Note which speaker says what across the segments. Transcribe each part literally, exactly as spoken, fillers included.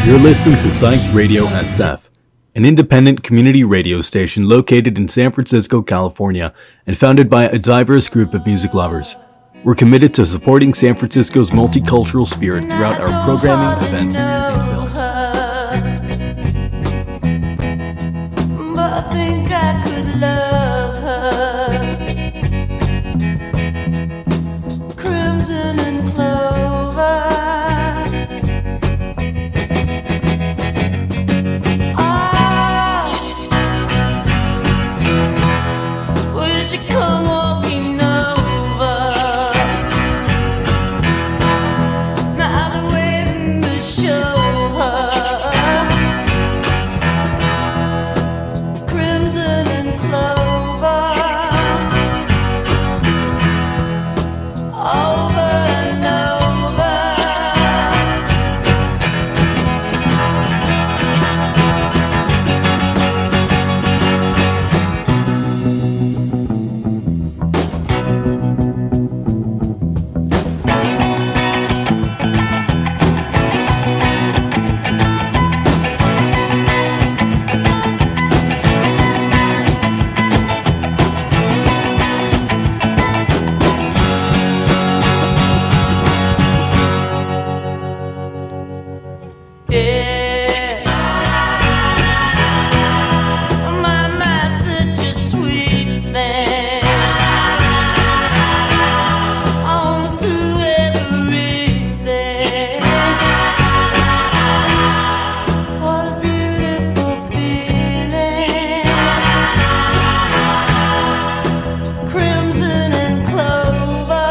Speaker 1: You're listening to Psyched Radio S F, an independent community radio station located in San Francisco, California, and founded by a diverse group of music lovers. We're committed to supporting San Francisco's multicultural spirit throughout our programming, events, and films.
Speaker 2: But I think I could love her. Crimson and clover. Ah, will she come walking over? Now I've been waiting to show her. Crimson and clover. Over and over. Yeah. My mind's such a sweet thing. I wanna do everything. What a beautiful feeling. Crimson and clover.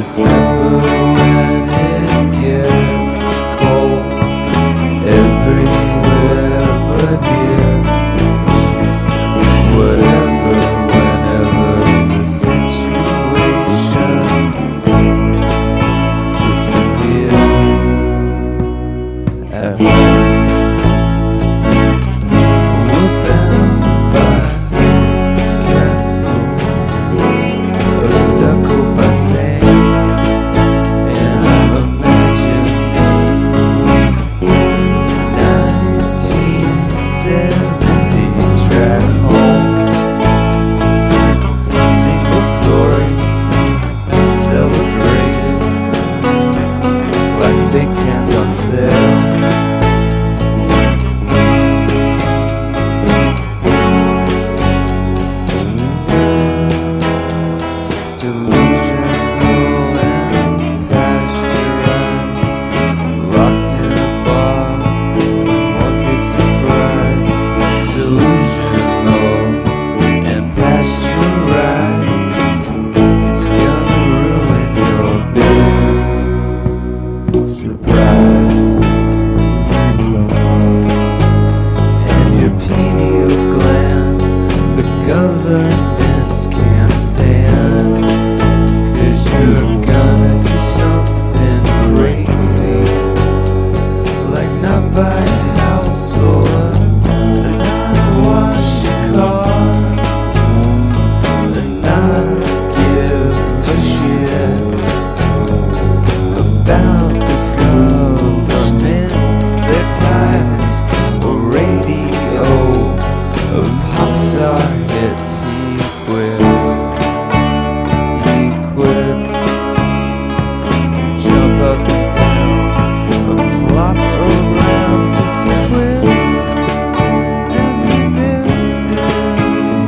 Speaker 3: December when it gets cold everywhere but here. She says whatever, whenever the situation disappears. At home we're bound by castles of stucco by sand, and I'm imagining nineteen seventy track homes, single stories celebrated like fake cans on sale. Delusional and pasteurized, locked in a bar with one big surprise. Delusional and pasteurized, it's gonna ruin your big surprise. And your pineal gland, the governments can't stand, 'cause you're gonna do something crazy, like not buy a house or not wash your car, and not give two shits about the government, their ties, or radio, or pop star hits. He quits, he quits, jump up and down, or flop around, 'cause he quits, and he misses.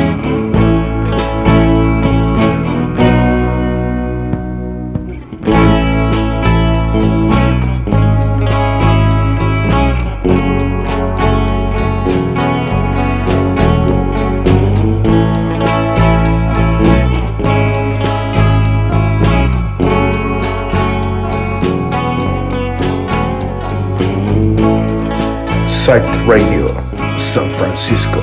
Speaker 4: Psych Radio, San Francisco.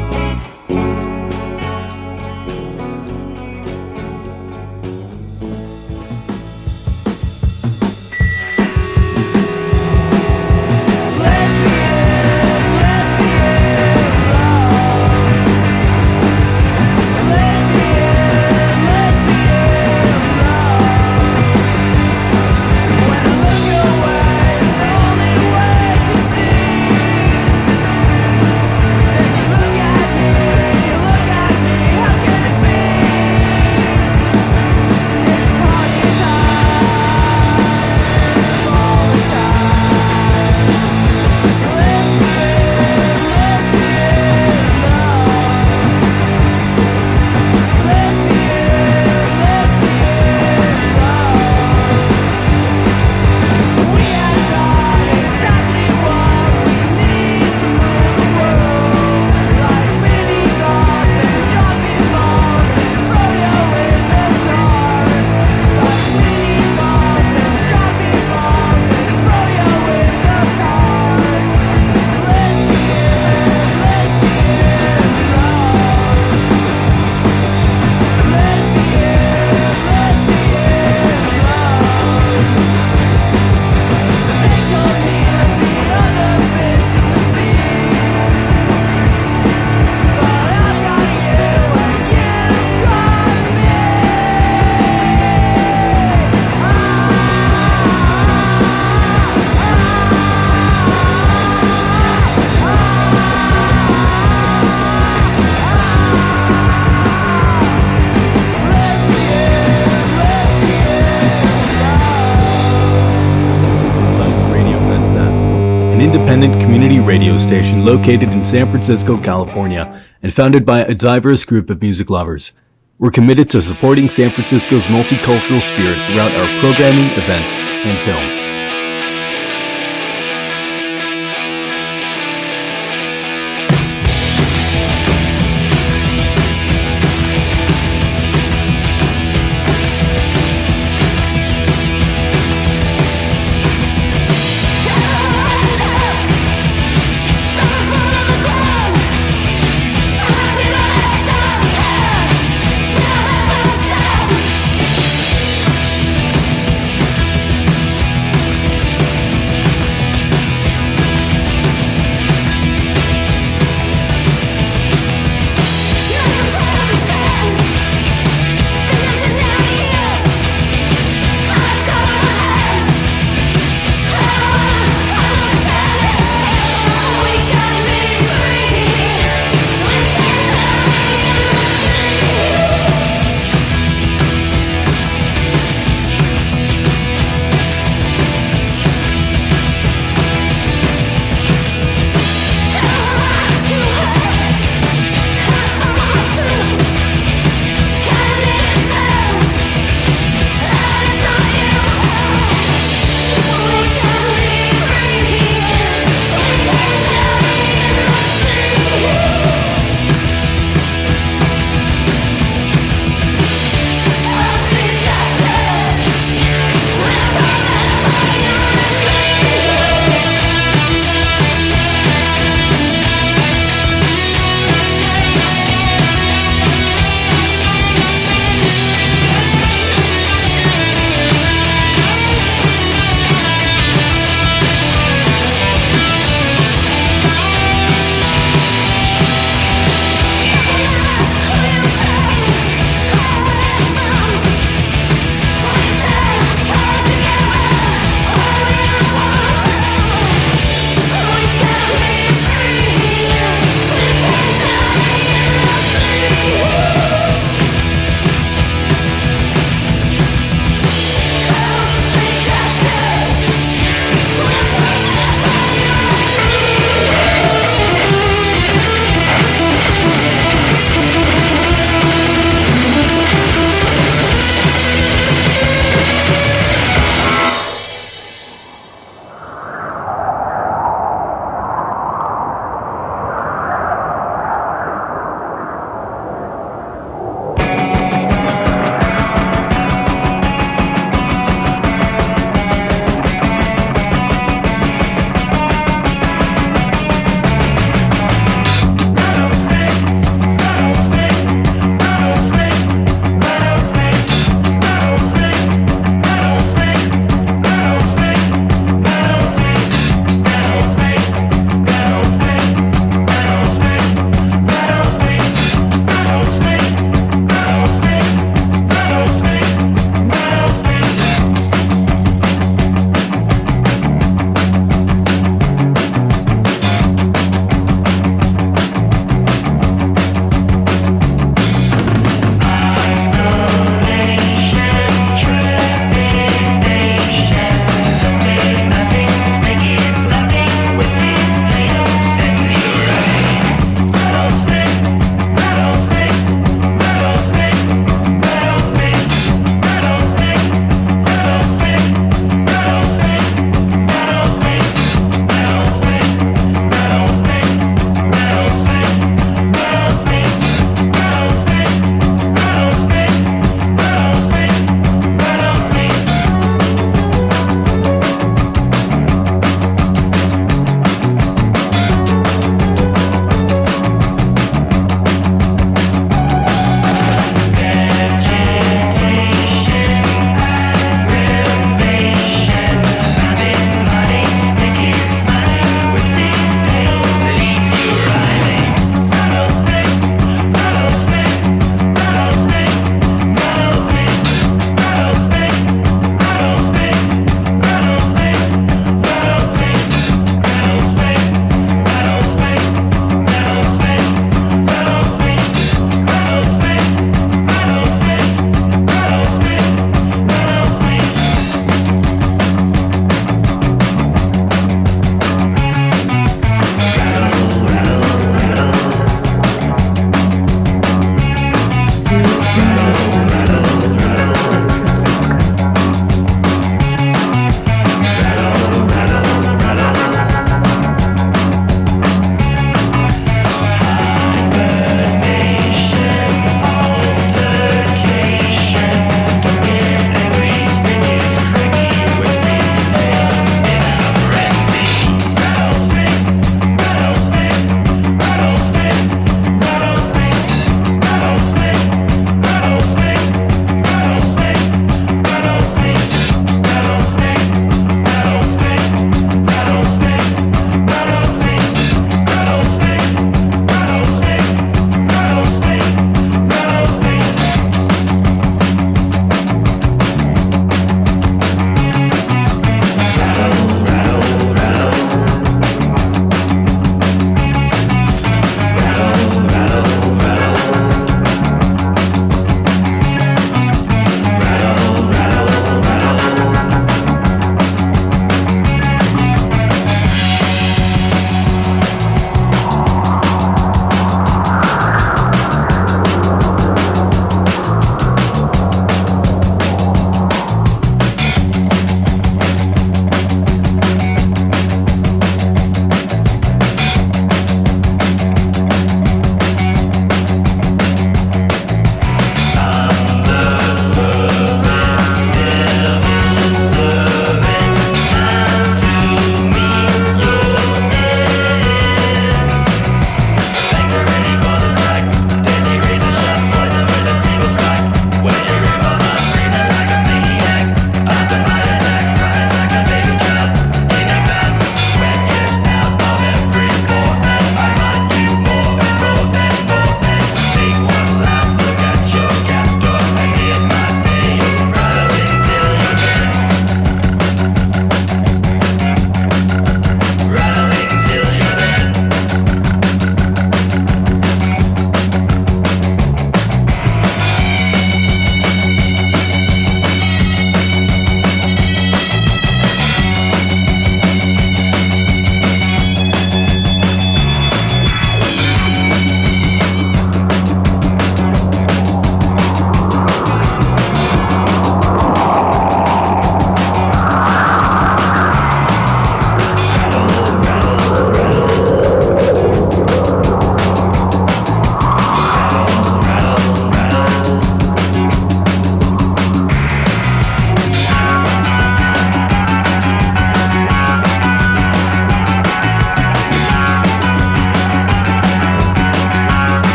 Speaker 1: an independent community radio station located in San Francisco, California, and founded by a diverse group of music lovers. We're committed to supporting San Francisco's multicultural spirit throughout our programming, events, and films.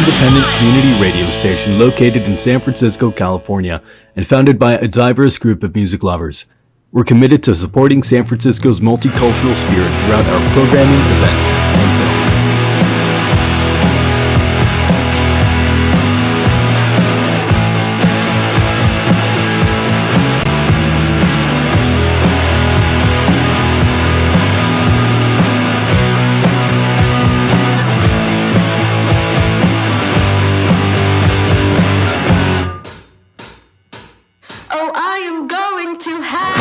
Speaker 1: independent community radio station located in San Francisco, California, and founded by a diverse group of music lovers. We're committed to supporting San Francisco's multicultural spirit throughout our programming, events, and films.
Speaker 2: Oh, I am going to have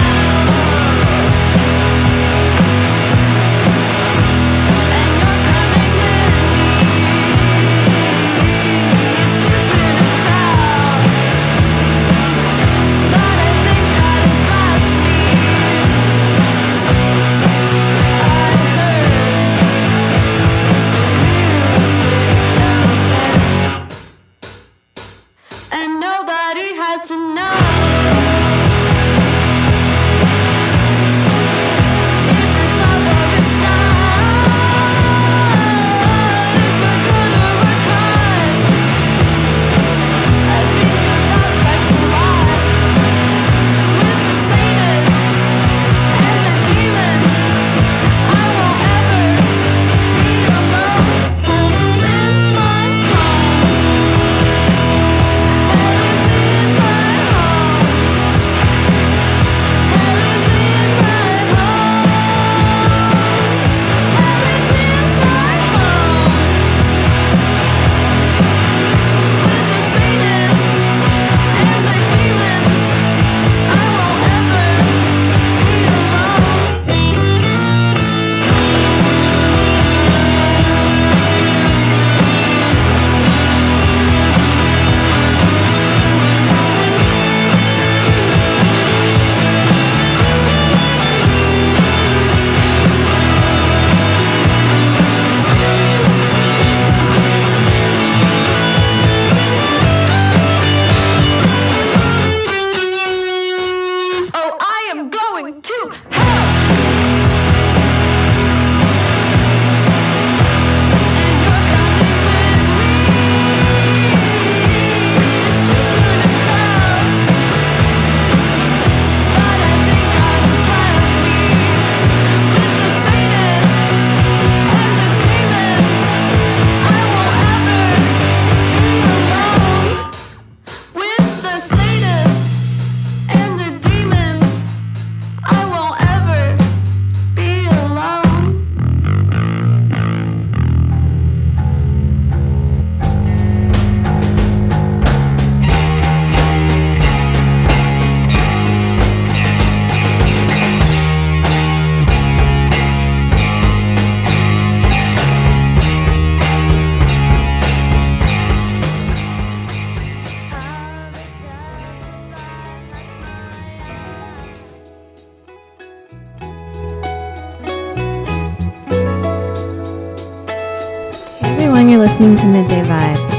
Speaker 5: You're listening to Midday Vibes.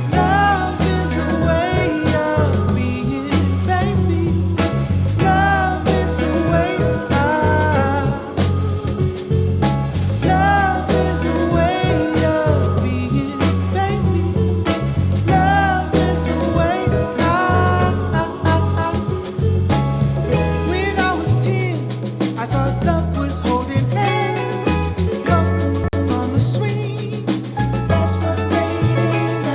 Speaker 3: Love is a way of being, baby. Love is the way I. Love is a way of being, baby. Love is the way I. When I was ten, I thought love was holding hands, coupled on the swing. That's what made it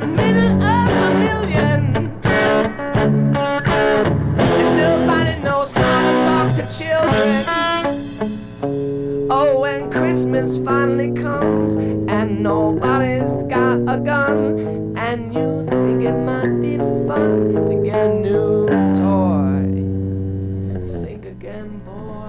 Speaker 2: the middle of a million. And nobody knows how to talk to children. Oh, when Christmas finally comes and nobody's got a gun, and you think it might be fun to get a new toy, think again, boy.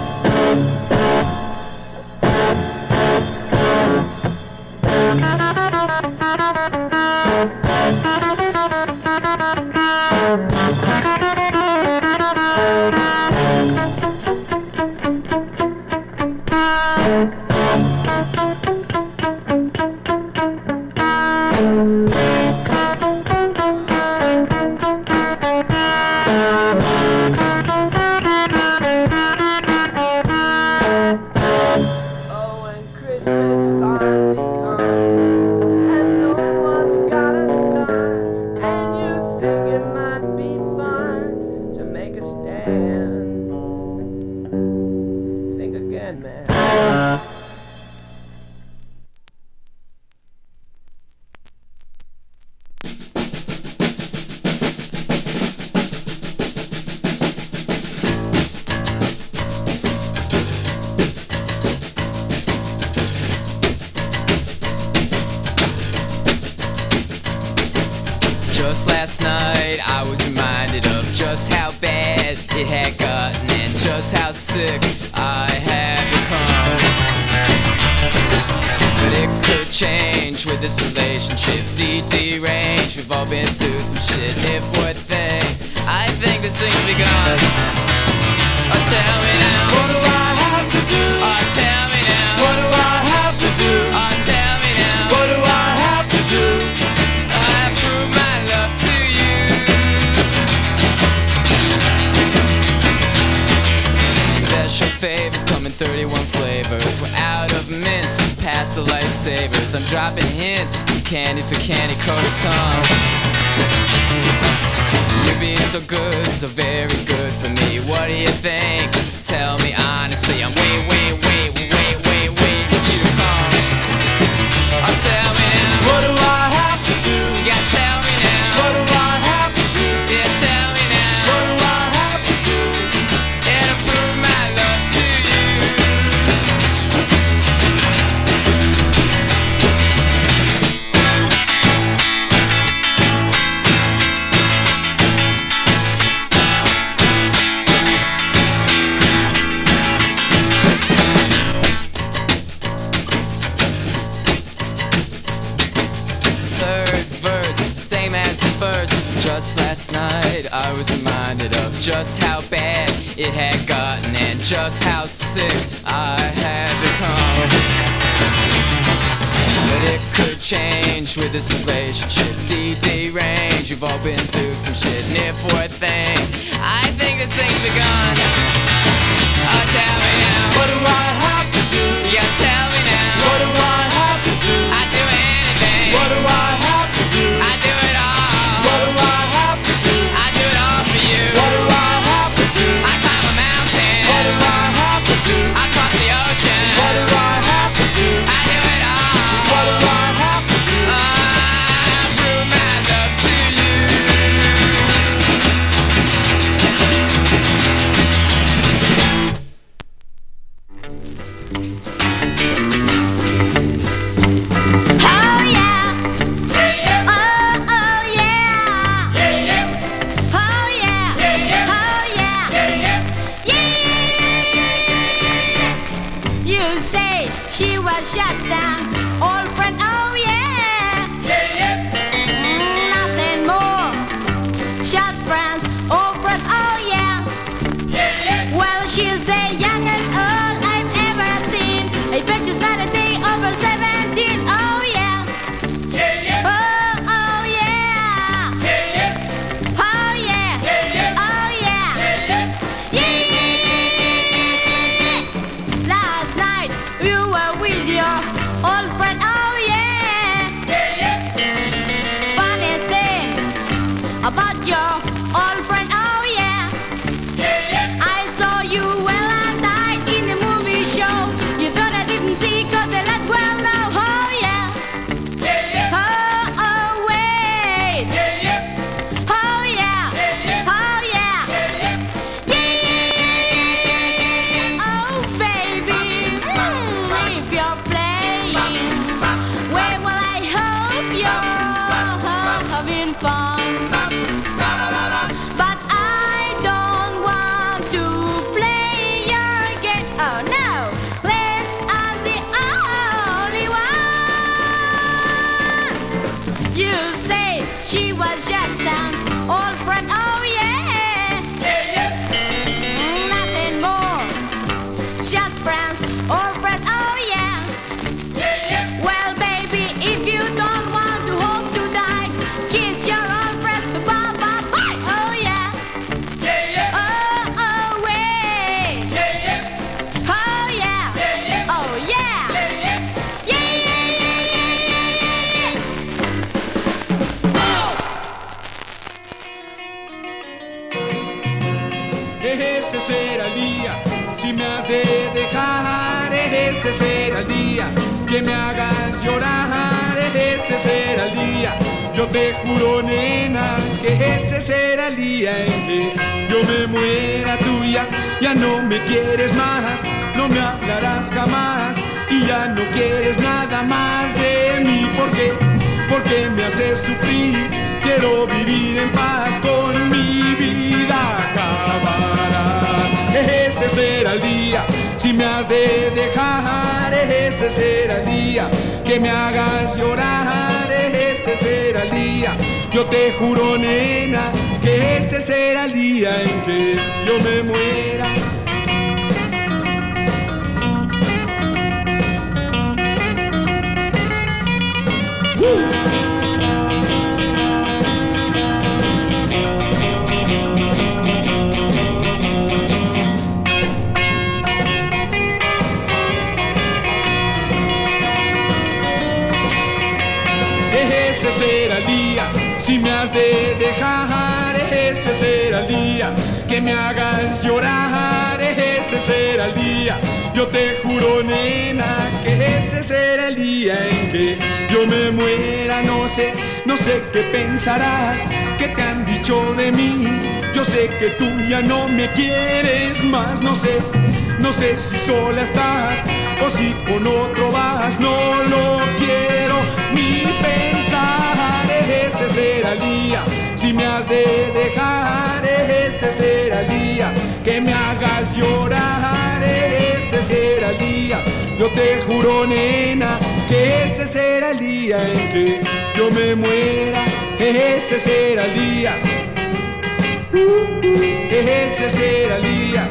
Speaker 6: Just last night I was reminded of just how bad it had gotten and just how sick I had become. But it could change with this relationship, D-D range. We've all been through some shit. If one thing, I think this thing's begun. Oh, tell me now, what do I have to do? Oh, tell me now, what do I have to do? Oh, tell me now, what do I have to do? I prove my love to you. Special favors come in thirty-one flavors. We're out of mints, past the lifesavers. I'm dropping hints, candy for candy coated tongue. You're being so good, so very good for me. What do you think? Tell me honestly. I'm wait, wait, wait, wait, wait, wait for you to come. Oh, tell me now, what do I have to do? You gotta tell me now, what do I have to do? Yeah, tell me now, what do I have to do? Yeah, to prove my love to you. Just last night I was reminded of just how bad it had gotten and just how sick I had become. But it could change with this relationship, D-D range. You've all been through some shit, and if one thing, I think this thing's begun. Oh, tell me now, what do I have to do? You gotta tell me now, what do I have to do? I'd do anything. What do I have to do? I do it all. What do I have to do? I do it all for you. What do I have to do? I climb a mountain. What do I have to do? I cross the ocean. What do I have to do? I do it all. What do I have to do? I prove my love to you.
Speaker 7: having fun. But I don't want to play your game. Oh no, Les, I'm the only one. You say she was just an old friend. Oh yeah, yeah, yeah. Nothing more, just friends, old friends. Oh yeah, yeah, yeah. Well, baby, if you don't want to hope to die, kiss your old friends goodbye, bye, bye. Oh yeah, yeah, yeah. Oh, oh, way, yeah, yeah. Oh yeah, yeah, yeah. Oh yeah, yeah, yeah. Yeah, yeah, yeah, yeah, yeah, yeah.
Speaker 8: Ese será el día, si me has de dejar. Ese será el día, que me hagas llorar. Ese será el día, yo te juro, nena, que ese será el día en que yo me muera tuya. Ya no me quieres más, no me hablarás jamás, y ya no quieres nada más de mí. ¿Por qué? Porque me haces sufrir. Quiero vivir en paz, con mi vida acabarás. Ese será el día, si me has de dejar. Ese será el día, que me hagas llorar. Ese será el día, yo te juro, nena, que ese será el día en que yo me muera. Ese será el día, si me has de dejar. Ese será el día, que me hagas llorar. Ese será el día, yo te juro, nena, que ese será el día en que yo me muera. No sé, no sé qué pensarás, qué te han dicho de mí. Yo sé que tú ya no me quieres más. No sé, no sé si sola estás o si con otro vas. No lo quiero ni pensar. Ese será el día, si me has de dejar. Ese será el día, que me hagas llorar. Ese será el día, yo te juro, nena, que ese será el día en que yo me muera. Ese será el día, ese será el día,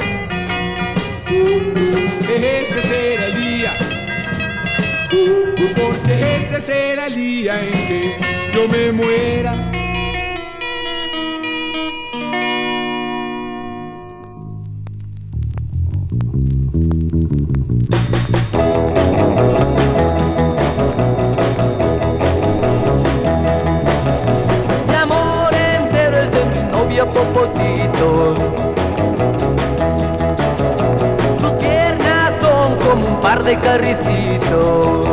Speaker 8: ese será el día, porque ese será el día en que yo me muera.
Speaker 9: Mi amor entero es de mi novia Popotitos. Sus piernas son como un par de carricitos.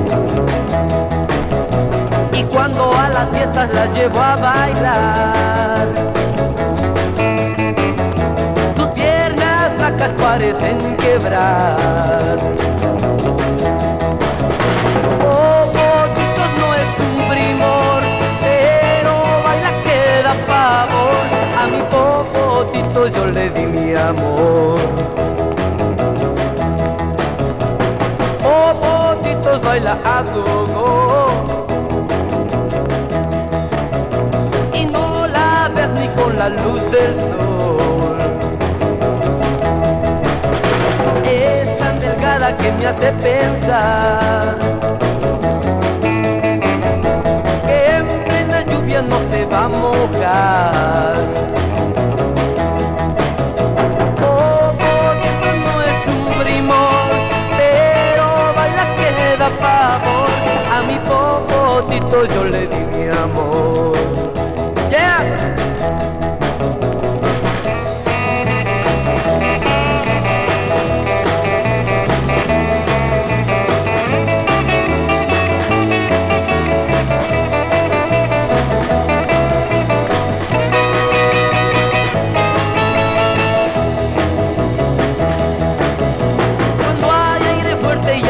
Speaker 9: Y cuando a las fiestas las llevo a bailar, sus piernas flacas parecen quebrar. Popotitos no es un primor, pero baila que da pavor. A mi Popotito yo le di mi amor. Popotitos baila a gogo, con la luz del sol. Es tan delgada que me hace pensar que en plena lluvia no se va a mojar. Popotito no es un primor, pero baila que da pavor. A mi Popotito yo le di mi amor. Yeah.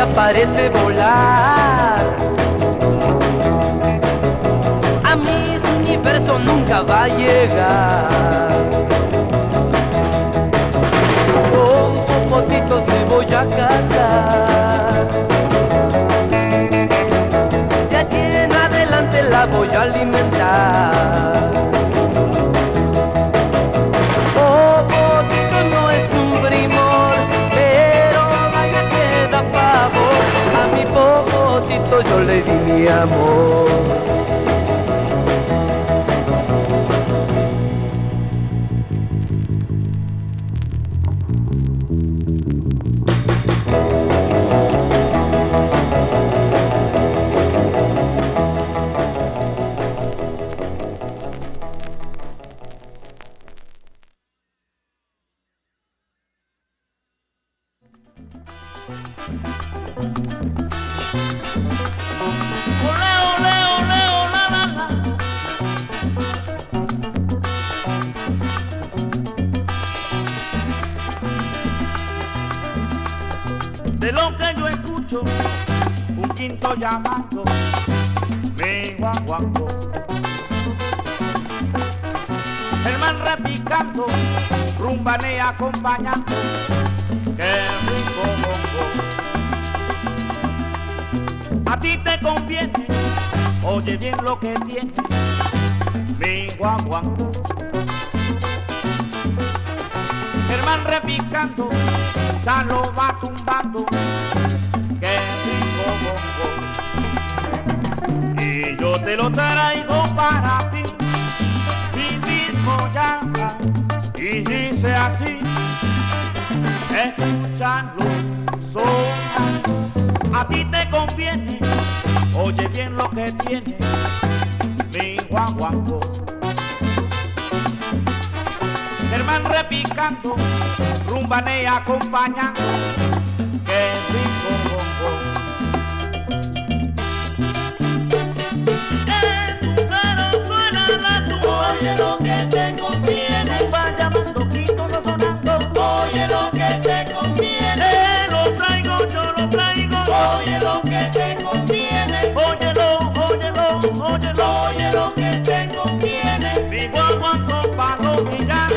Speaker 9: Parece volar, a mis eso nunca va a llegar. Con popotitos me voy a casar. De aquí en adelante la voy a alimentar. Popotito no es un primor, pero vaya que da pavor. A mi popotito yo le di mi amor.
Speaker 10: De lo que yo escucho, un quinto llamando mi guaguaco, el man repicando, rumbane acompañando, qué rico bongo. A ti te conviene, oye bien lo que tiene mi guaguaco, el man repicando, ya lo va tumbando, qué rico bongo. Y yo te lo traigo para ti, mi mismo llama, y dice así, escúchalo, sola, a ti te conviene, oye bien lo que tiene mi guaguaco. El man repicando, rumbane acompañando, qué rico bongo. En tu caro suena la tumba, oye lo que te conviene. Va llamando, quinto sonando, oye lo que te conviene. Eh, lo traigo, yo lo traigo, oye lo que te conviene. Óyelo, óyelo, óyelo, oye lo que te conviene. Mi guaguaco pa' los millares.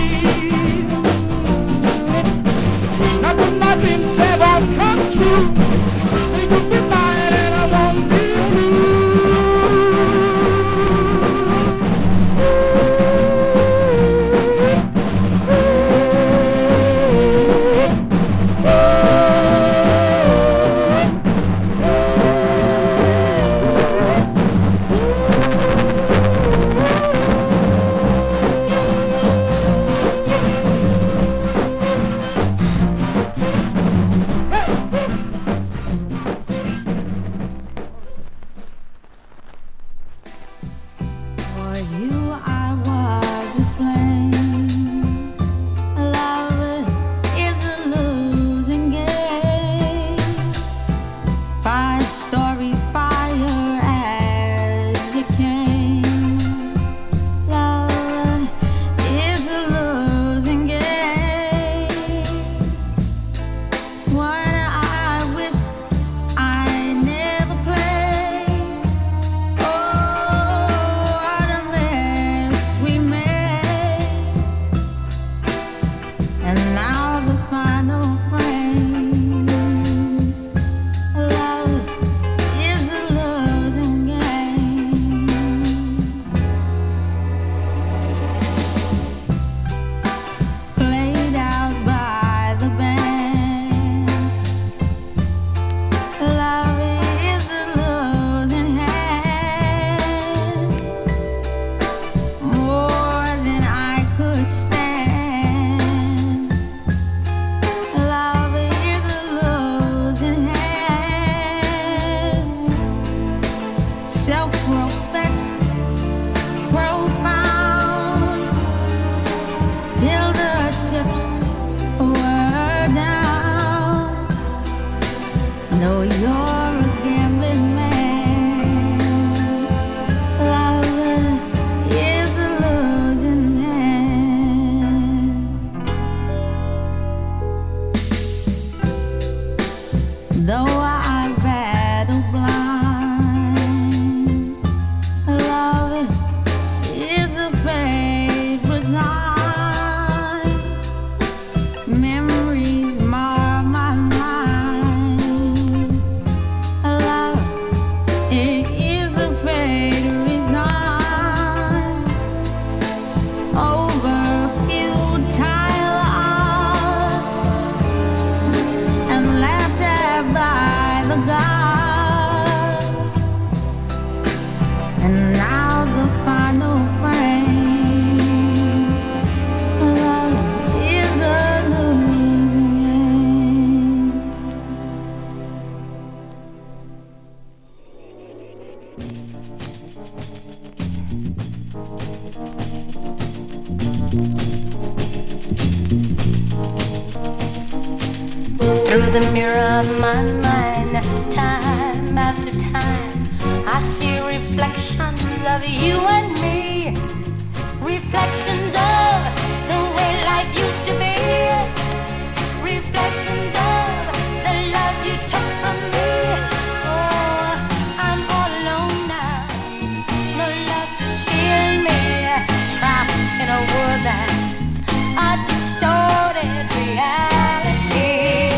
Speaker 11: Nothing said won't come true.
Speaker 7: know you're a gambling man. Love is a losing hand. Though I battle blind, love is a fate resigned. Memories mar my mind. Love it is a fate resigned. Over a futile art and laughed at by the gods. And now the final frame. Love is a losing game.
Speaker 11: Through the mirror of my mind, time after time, I see reflections of you and me. Reflections of the way life used to be. Reflections of the love you took from me. Oh, I'm all alone now. No love to shield me. Trapped in a world that's a distorted reality.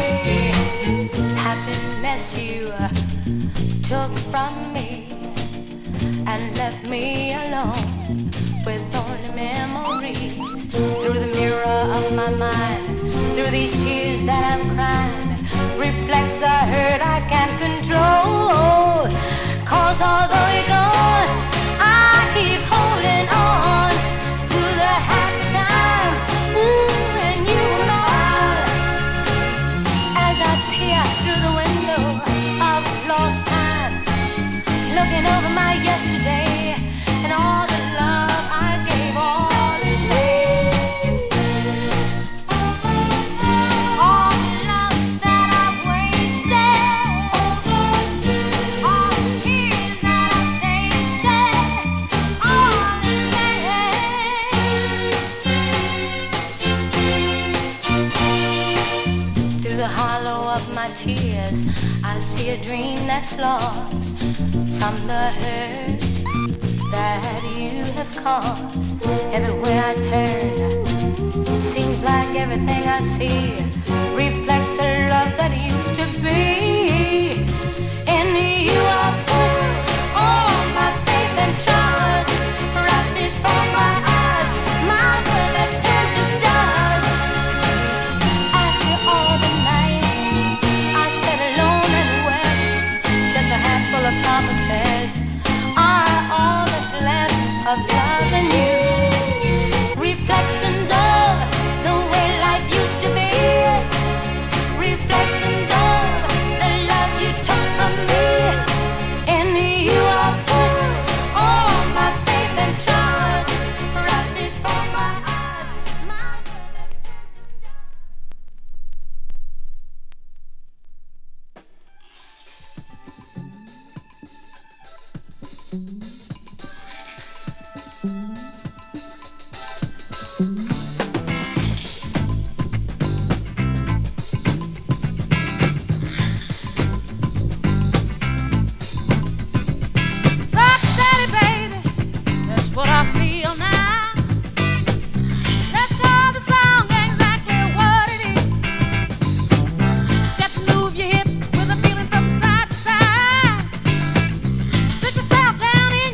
Speaker 11: Happiness you took from me and left me alone with only memories. Through the mirror of my mind, through these tears that I'm crying, reflects the hurt I can't control. Cause although you're gone, I keep holding on to the happy time. Ooh, and you were mine. As I peer through the window of lost time, looking over my yesterday and all the love I gave all is waste. All the love that I've wasted, all the tears that I've tasted, all is waste. Through the hollow of my tears, I see a dream that's lost from the hurt that you have caused. Everywhere I turn, seems like everything I see reflects the love that used to be. In you I put all my faith and trust, right before my eyes, my world has turned to dust. After all the nights I sat alone and wept, just a handful of promises are all that's left of love and you. Reflections of the way life used to be. Reflections of the love you took from me. In you I put all my faith and trust, right before my eyes, my world has Rock steady, baby, that's what I feel now. Let's call the song exactly what it is. Step and move your hips with a feeling from side to side. Sit yourself down in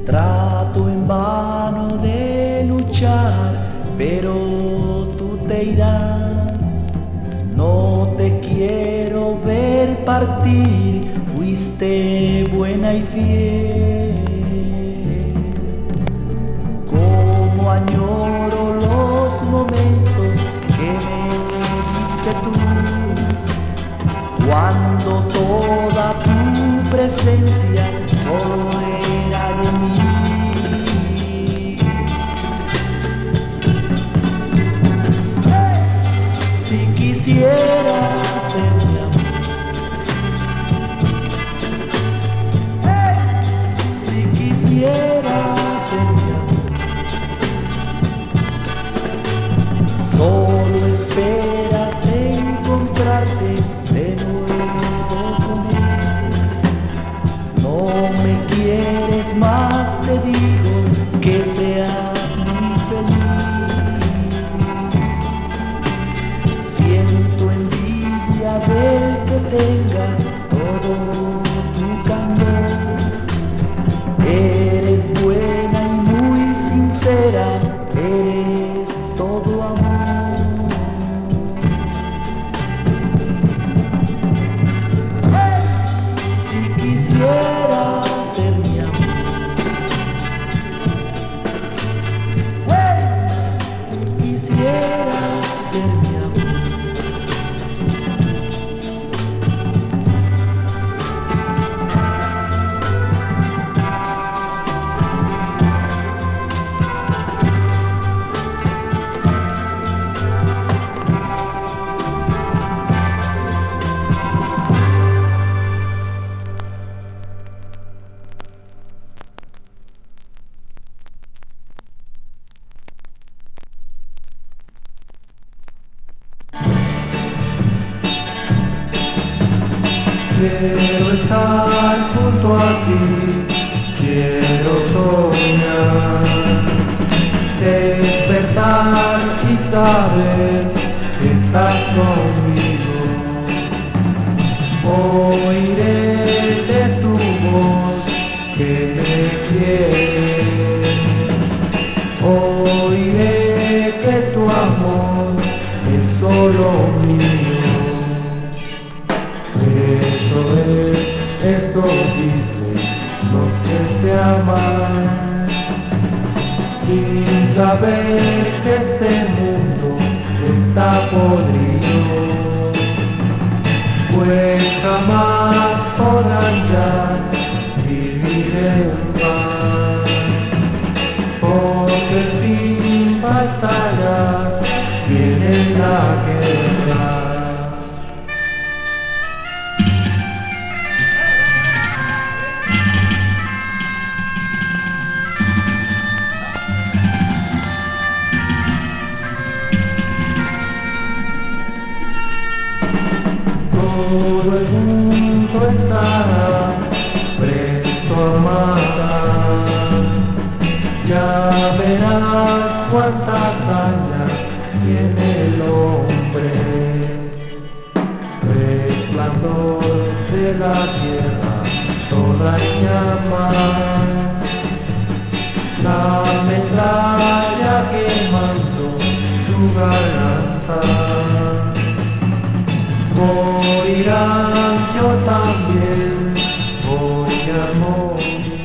Speaker 3: Trato en vano de luchar, pero tú te irás. No te quiero ver partir, fuiste buena y fiel. Como añoro los momentos que me diste tú, cuando toda tu presencia solo era de mí. Si quisiera ser mi amor, si quisiera ser mi amor, solo esperas encontrarte de nuevo conmigo. No me quieres más, te digo que seas muy feliz. Siento envidia del que tenga todo tu candor. Eres buena y muy sincera, eres todo amor. Si quisiera ser mi amor, si quisiera ser mi amor. Quiero estar junto a ti, quiero soñar, despertar y saber que estás conmigo. Oiré de tu voz que me quieres, oiré que tu amor es solo mío. Esto es, esto dicen los que se aman, sin saber que este mundo está podrido, pues jamás podrán ya vivir en paz, porque el fin va a estallar, viene la guerra. Todo el mundo estará presto a matar. Ya verás cuánta hazaña tiene el hombre. Resplandor de la tierra, toda en llamas. La metralla quemando tu garganta. Morirás, yo también voy a morir,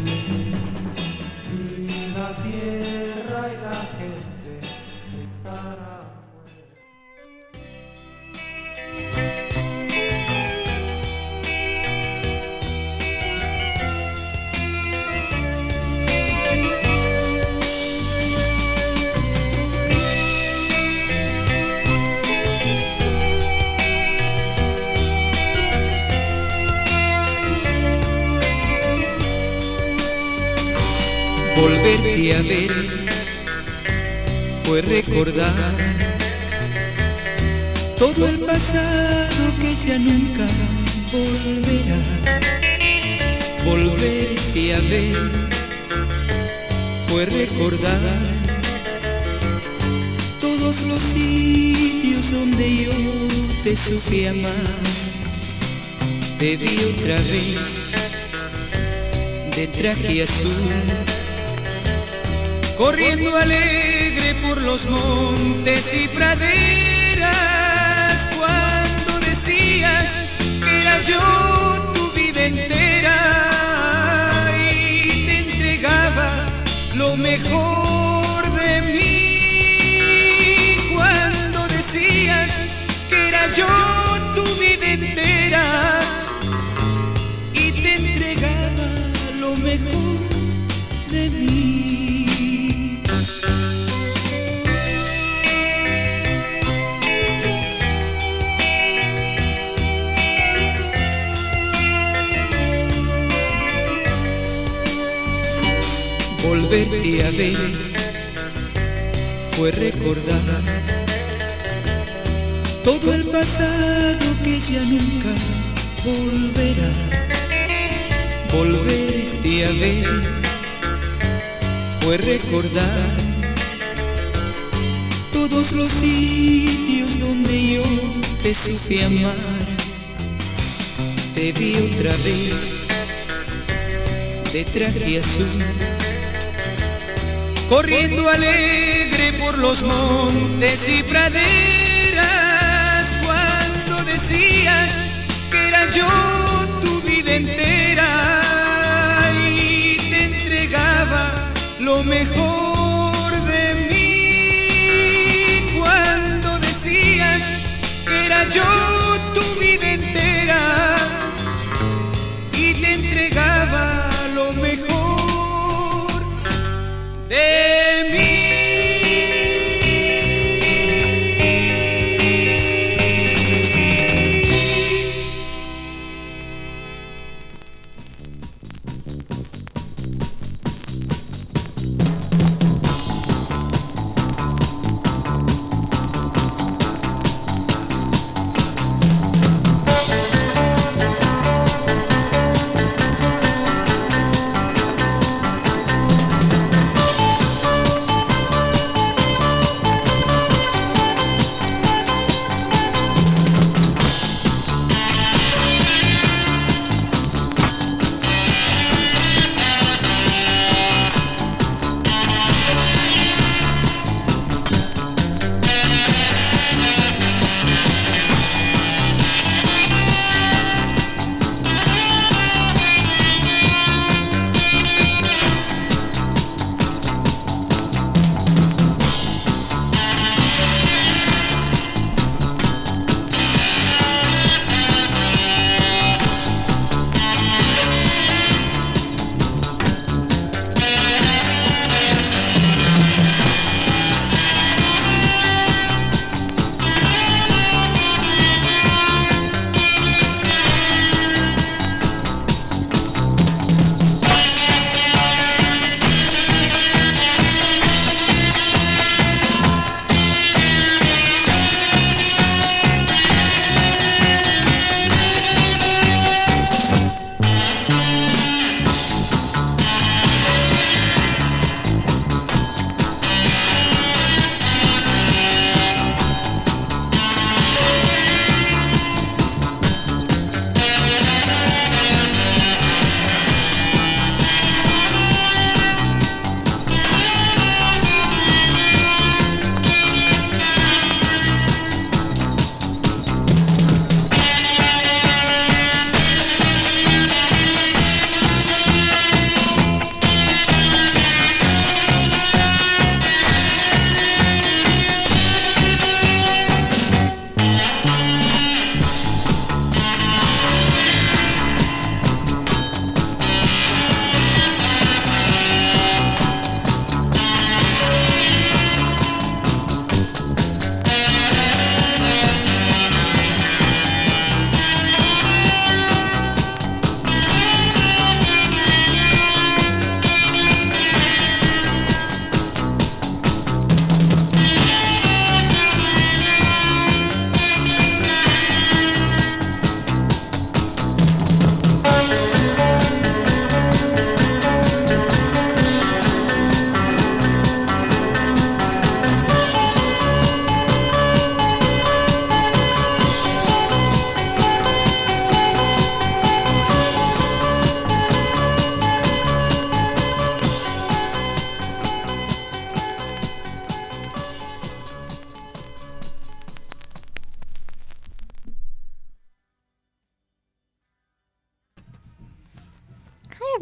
Speaker 3: y la tierra y la gente estarán muertos.
Speaker 12: Volverte a ver fue recordar todo el pasado que ya nunca volverá. Volverte a ver fue recordar todos los sitios donde yo te supe amar. Te vi otra vez de traje azul, corriendo alegre por los montes y praderas, cuando decías que era yo tu vida entera y te entregaba lo mejor de mí, cuando decías que era yo tu vida entera y te entregaba lo mejor de mí. Volverte a ver fue recordar todo el pasado que ya nunca volverá. Volverte a ver fue recordar todos los sitios donde yo te supe amar. Te vi otra vez de traje azul, corriendo alegre por los montes y praderas, cuando decías que era yo tu vida entera y te entregaba lo mejor de mí, cuando decías que era yo tu vida entera y te entregaba lo mejor de mí.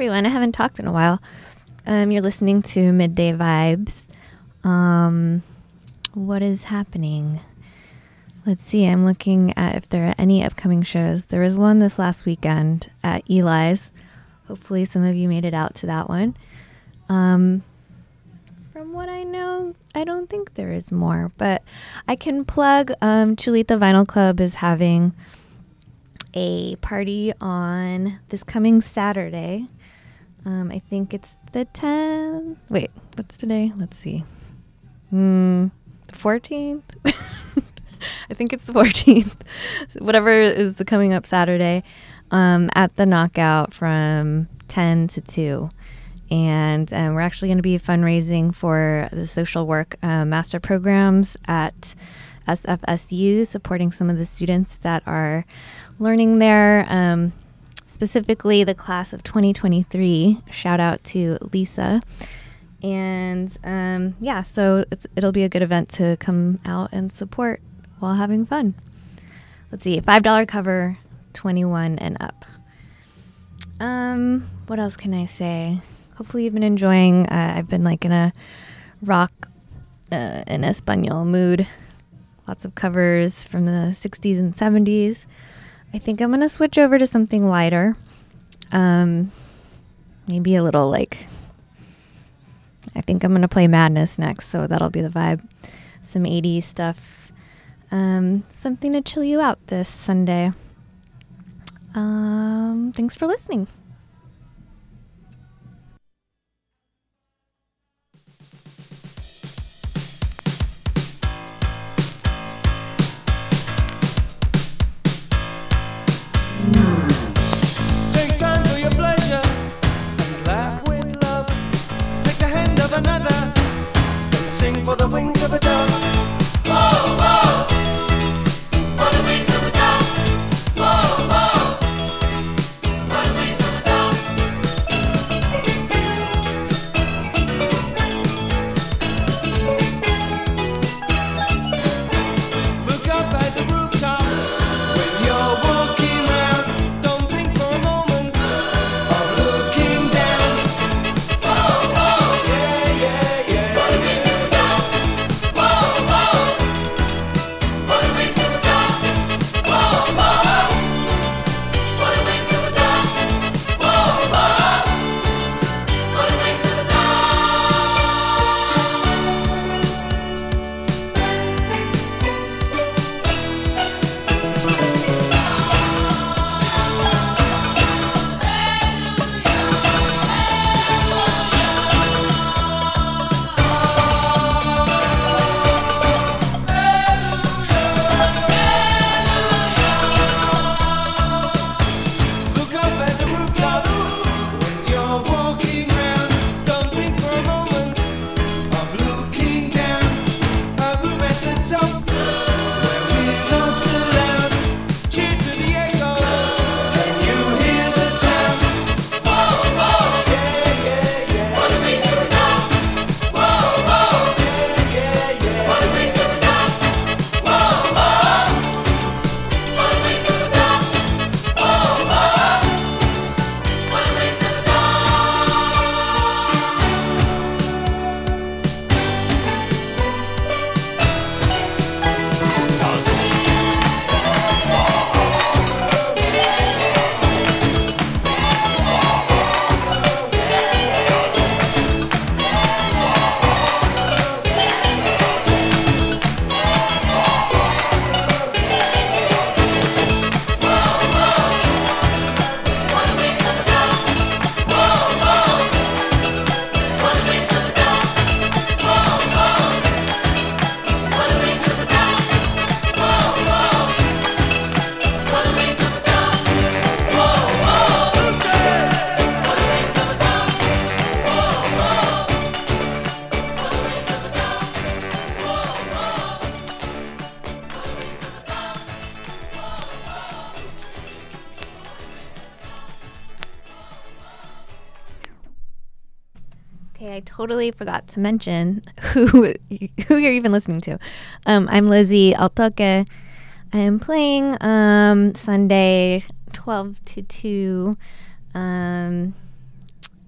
Speaker 5: everyone. I haven't talked in a while. Um, you're listening to Midday Vibes. Um, what is happening? Let's see. I'm looking at if there are any upcoming shows. There was one this last weekend at Eli's. Hopefully some of you made it out to that one. Um, from what I know, I don't think there is more, but I can plug um, Chulita Vinyl Club is having a party on this coming Saturday. Um, I think it's the tenth. Wait, what's today? Let's see. Mm, the fourteenth? I think it's the fourteenth. Whatever is the coming up Saturday um, at the Knockout from ten to two. And um, we're actually going to be fundraising for the social work uh, master programs at S F S U, supporting some of the students that are learning there, um, specifically the class of twenty twenty-three. Shout out to Lisa. And um, yeah, so it's, it'll be a good event to come out and support while having fun. Let's see, five dollars cover, twenty-one and up. Um, what else can I say? Hopefully you've been enjoying. Uh, I've been like in a rock uh, in Espanol mood. Lots of covers from the sixties and seventies. I think I'm going to switch over to something lighter. Um, maybe a little like, I think I'm going to play Madness next, so that'll be the vibe. Some eighties stuff. Um, something to chill you out this Sunday. Um, thanks for listening.
Speaker 3: Take time for your pleasure and laugh with love. Take the hand of another and sing for the wings of a dove. Whoa, whoa, for the wings of a dove. Whoa, whoa, for the wings of a dove. Look up at the rooftops when you're walking round. Don't think for a moment of looking down. Whoa, whoa, yeah, yeah, yeah. For the wings of a dove. Whoa, whoa, for the wings of a dove. Whoa, whoa, for the wings of a dove. Whoa, whoa, for the wings of a dove. Look up at the rooftops when you're walking round. Don't think for a moment of looking down. A room at the top where we're not allowed. Cheer to the echo. Can you hear the sound? Whoa, whoa, yeah, yeah, yeah. For the wings of a dove. Whoa, whoa, yeah, yeah, yeah. For the wings of a dove. Whoa, whoa, for the wings of a dove. Whoa, whoa, for the wings of a dove.
Speaker 5: Okay, I totally forgot to mention who who you're even listening to. Um, I'm Lizzie Altoque. I am playing um, Sunday twelve to two um,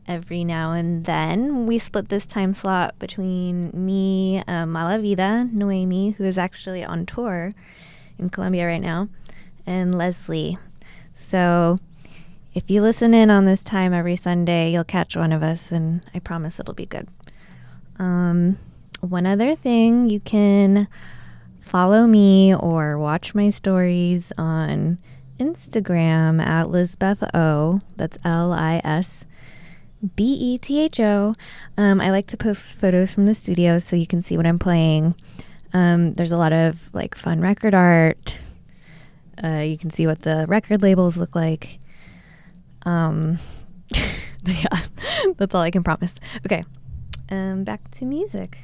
Speaker 5: every now and then. We split this time slot between me, um, Malavida, Noemi, who is actually on tour in Colombia right now, and Leslie. So if you listen in on this time every Sunday, you'll catch one of us, and I promise it'll be good. Um, one other thing, you can follow me or watch my stories on Instagram at Lisbeth O. That's L I S B E T H O. Um, I like to post photos from the studio so you can see what I'm playing. Um, there's a lot of like fun record art. Uh, you can see what the record labels look like. Um, yeah, that's all I can promise. Okay, um, back to music.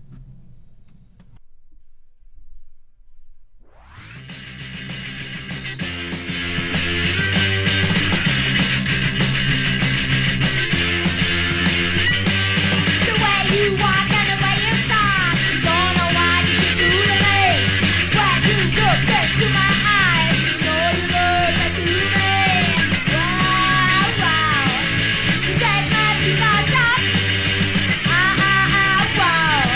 Speaker 7: You walk and the way you talk, don't know what you should do to me. When you look into my eyes, you know you look like to me. Wow, wow, you take me to the top. Ah, ah, ah, wow.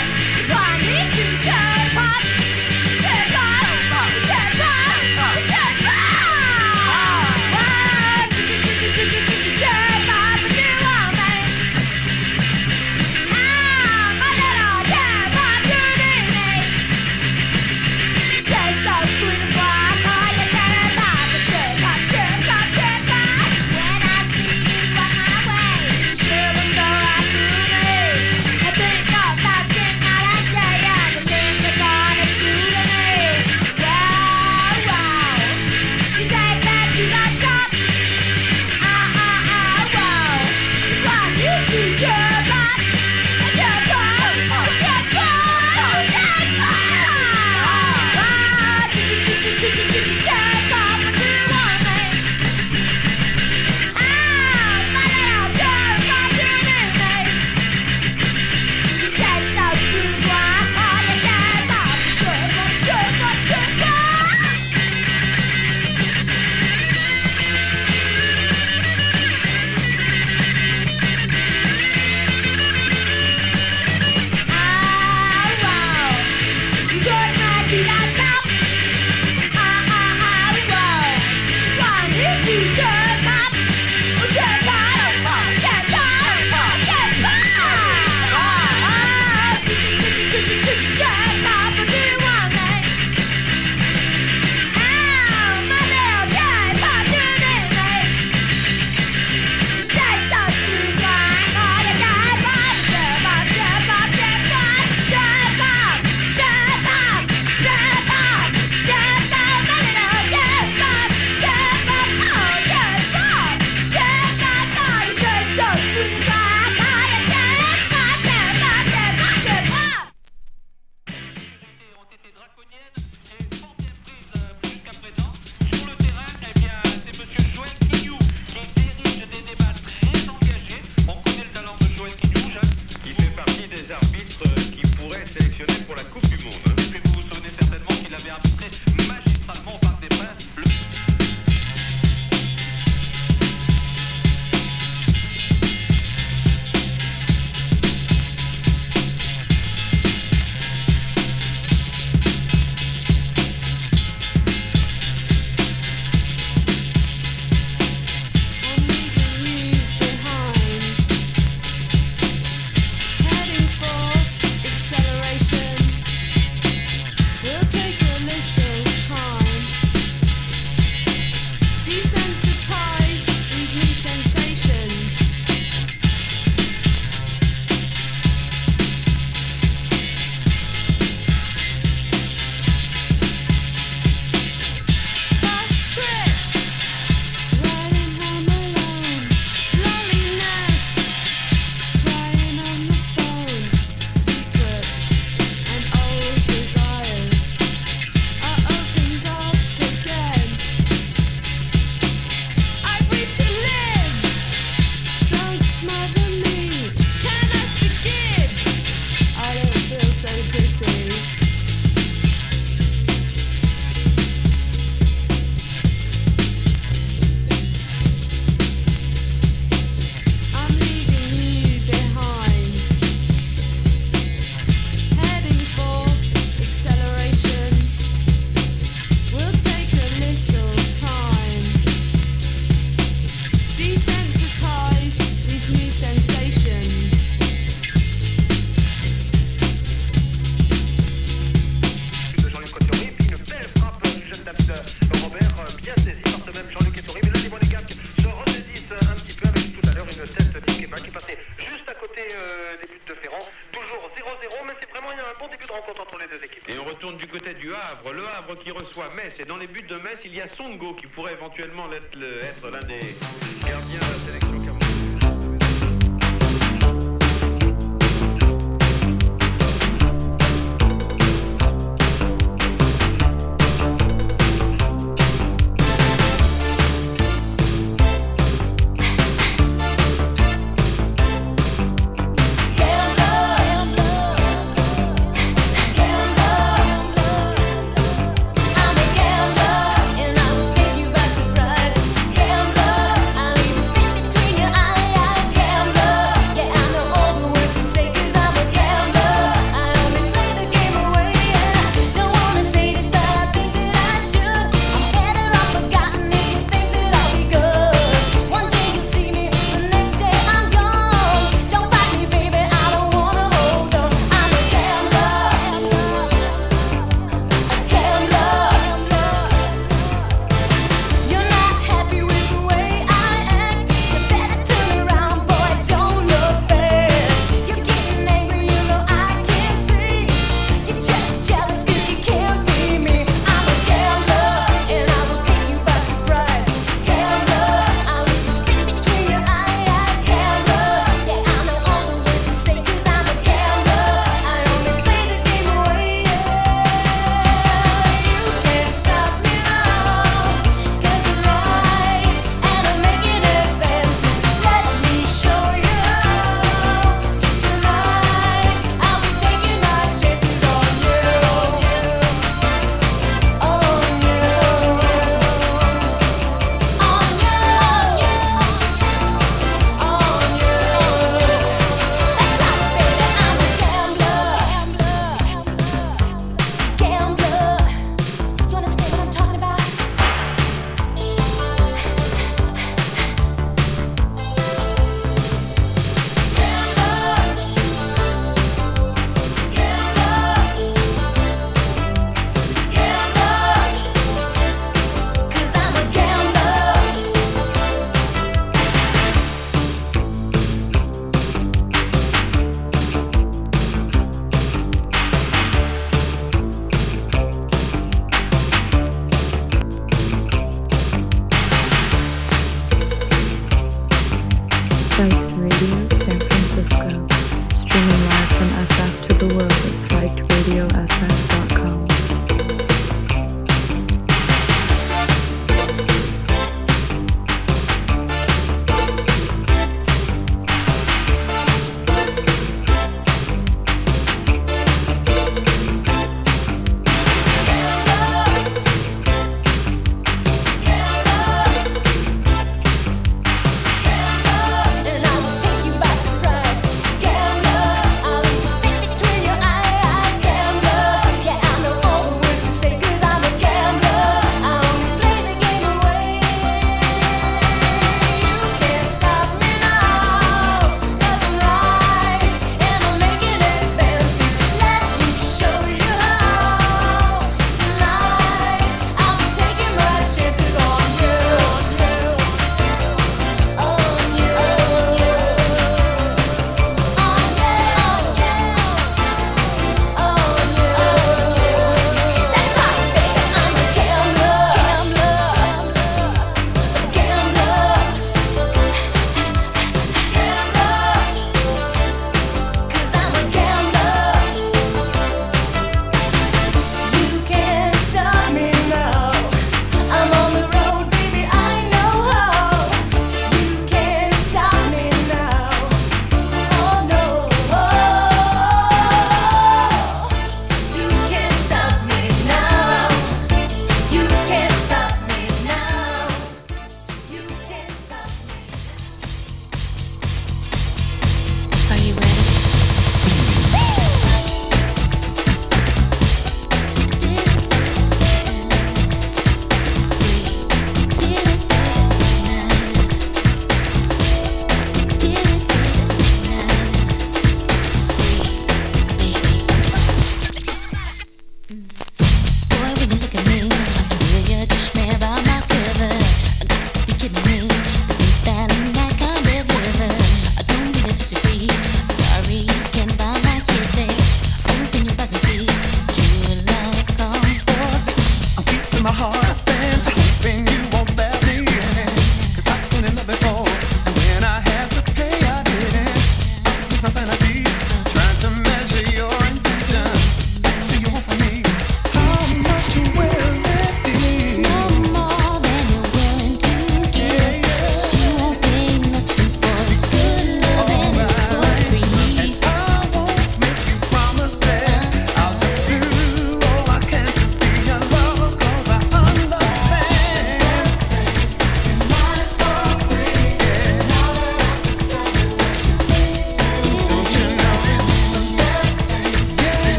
Speaker 13: des buts de Ferrand. Toujours zéro zéro, mais c'est vraiment il y a un bon début de rencontre entre les deux équipes.
Speaker 14: Et on retourne du côté du Havre, le Havre qui reçoit Metz. Et dans les buts de Metz, il y a Songo qui pourrait éventuellement être, le, être l'un des gardiens de la sélection camerounaise.
Speaker 15: And I will take you by surprise. Gambler, I'll leave a space between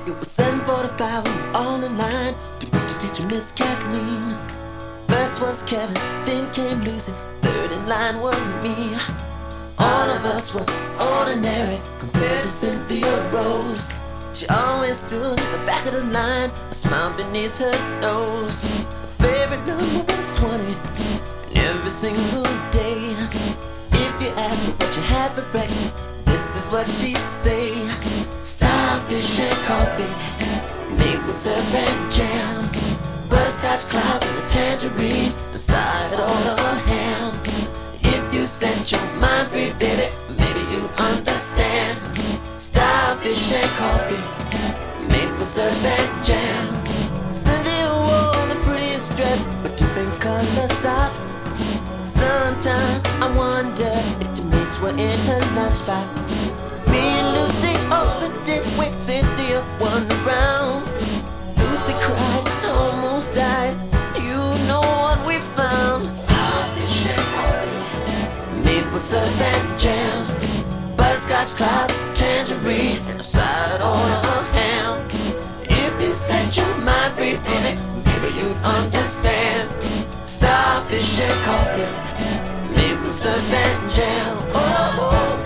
Speaker 15: It was seven forty-five, we were all in line to greet the teacher, Miss Kathleen. First was Kevin, then came Lucy, third in line was me. All of us were ordinary compared to Cynthia Rose. She always stood in the back of the line, a smile beneath her nose. Her favorite number was twenty, and every single day, if you asked her what she had for breakfast, this is what she'd say: starfish and coffee, maple syrup and jam, butterscotch clouds and a tangerine, and side on a ham. If you set your mind free, baby, maybe you understand. Starfish and coffee, maple syrup and jam. Cynthia wore the prettiest dress with different color socks. Sometimes I wonder if the mates were in her lunchbox. Me and Lucy opened it when Cynthia won the round. Lucy cried, almost died. You know what we found: starfish and coffee, maple syrup and jam, butterscotch clouds, tangerine, and a side on a ham. If you set your mind free, baby, maybe you'd understand. Starfish and coffee, maple syrup and jam. Oh, oh.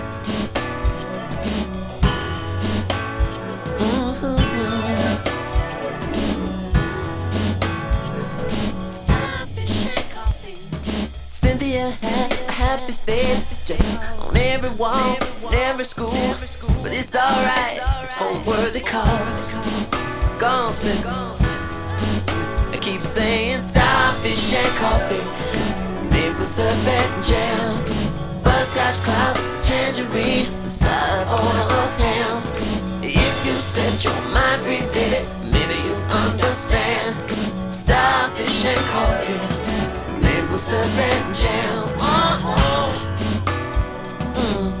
Speaker 15: Cynthia had a happy face just on every wall, in every school. But it's alright, it's for worthy cause. Gone, Cynthia. I keep saying starfish and coffee, maple syrup and jam, butterscotch clouds, tangerine, the side on a ham. If you set your mind free, baby, maybe you understand. Starfish and coffee, maple syrup and jam. Oh, oh. Mm.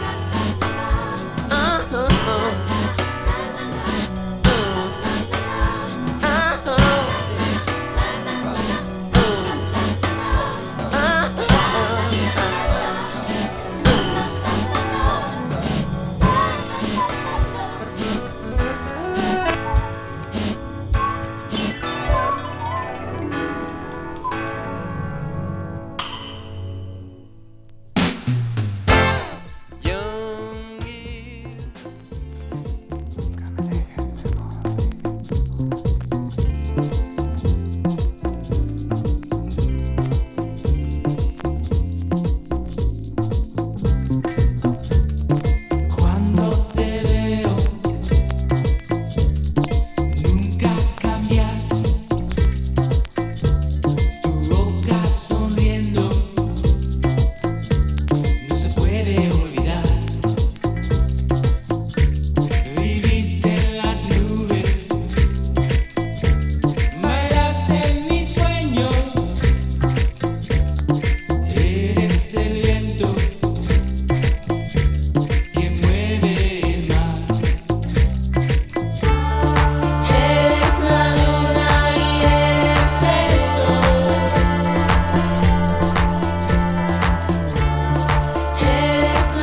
Speaker 15: Uh-huh. Uh-huh.
Speaker 16: Eres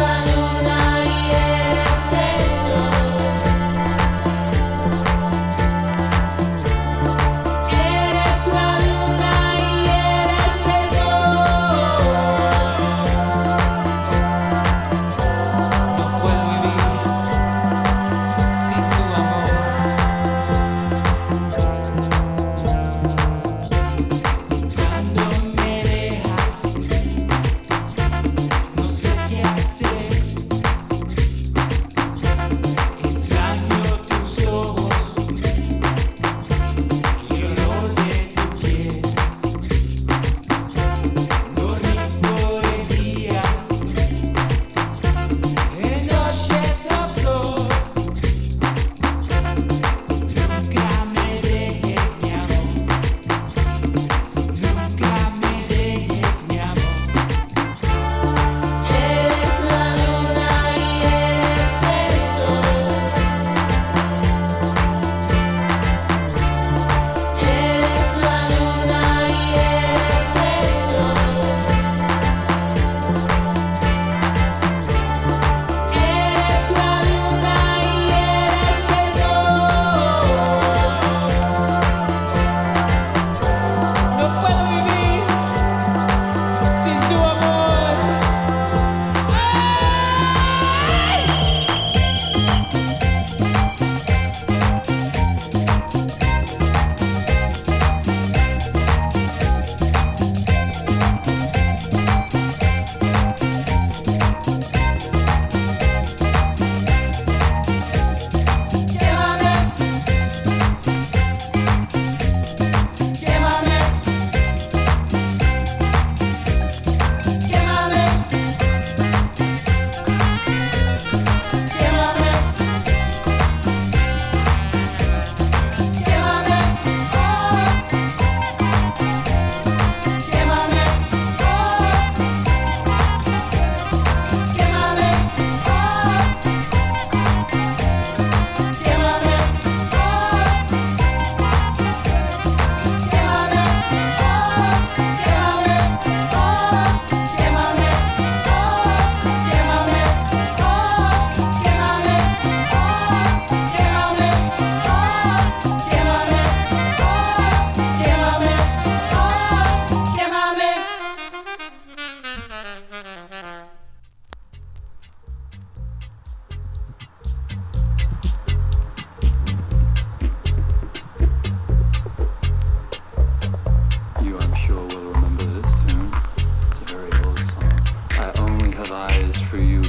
Speaker 16: eyes for you.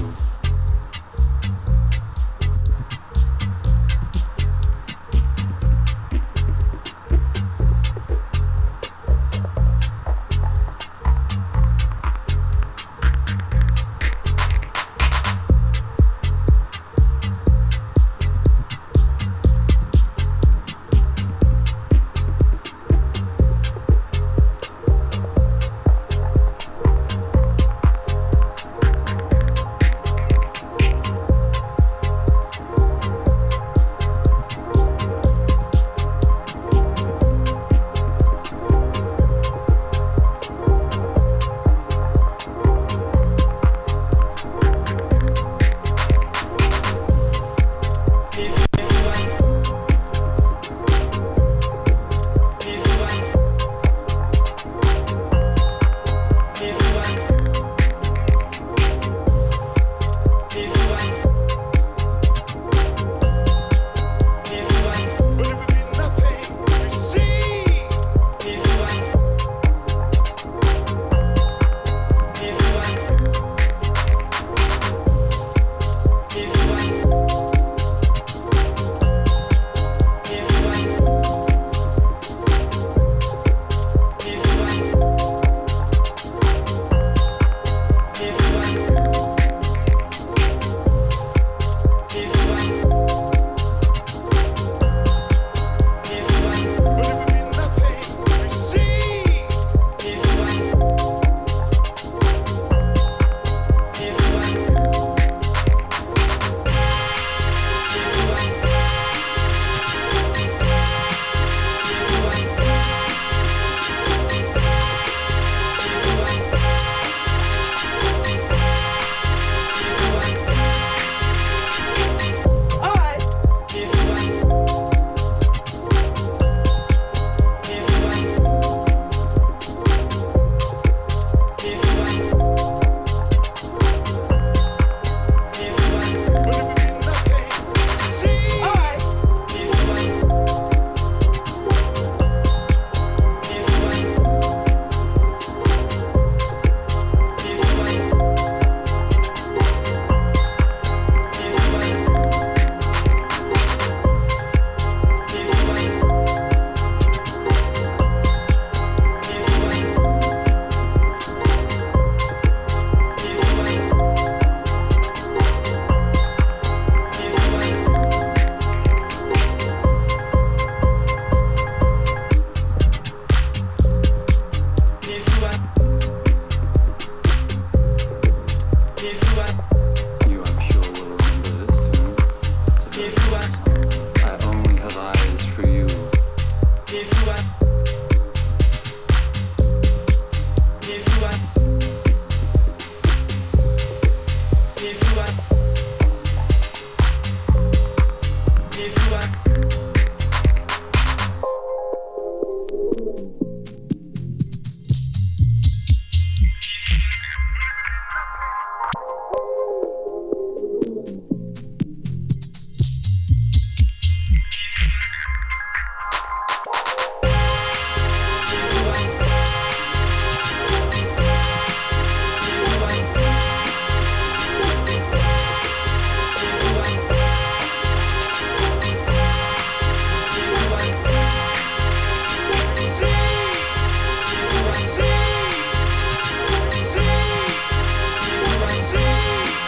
Speaker 3: See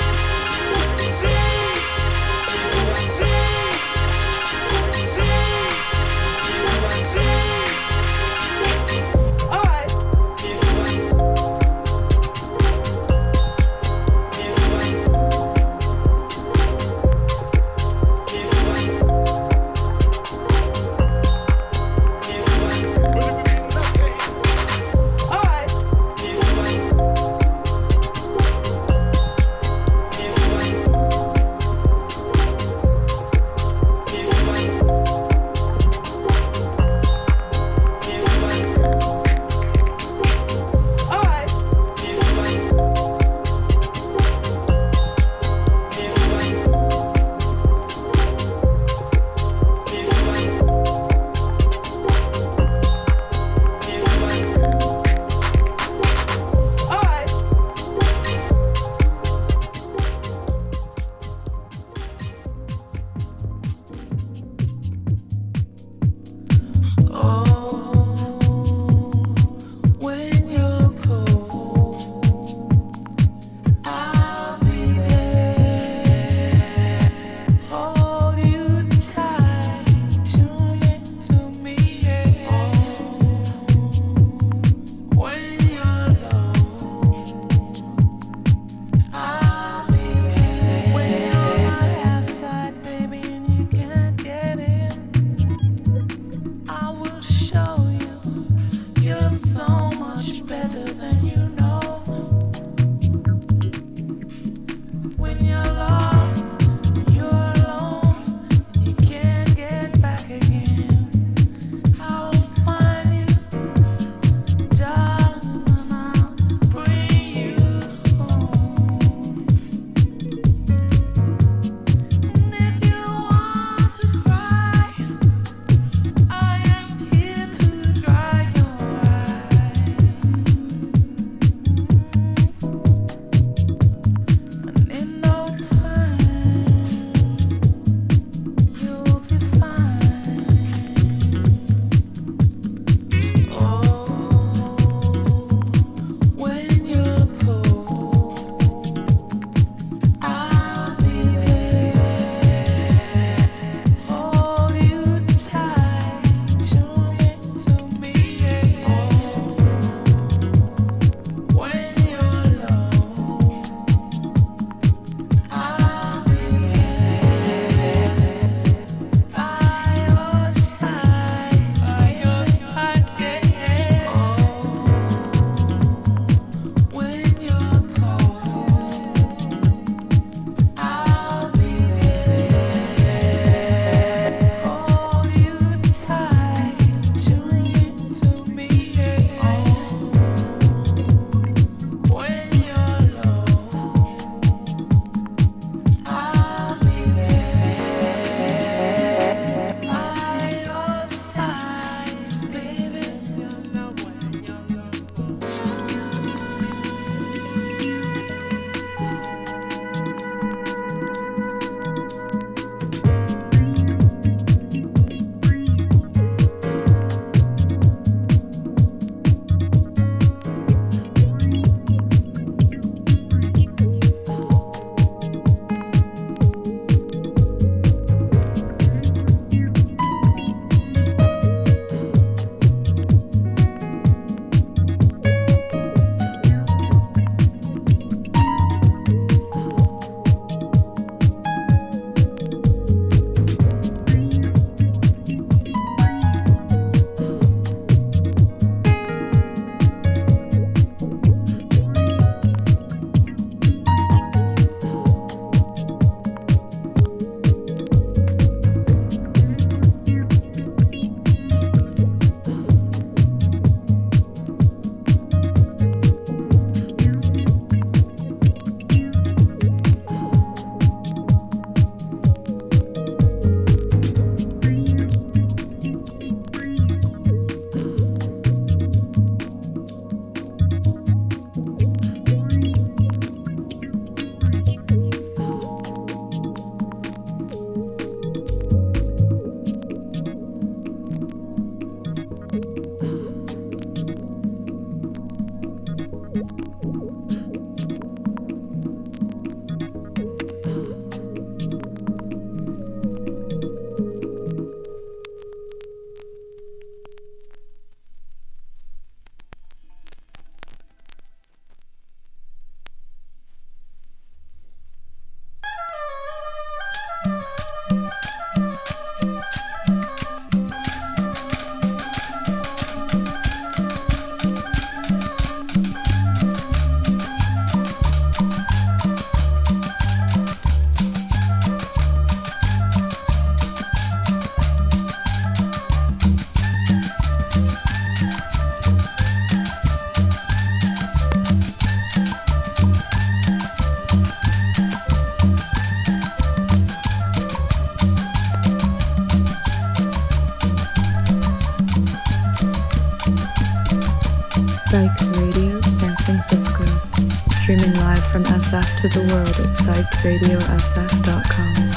Speaker 16: S F to the world at psyched radio s f dot com.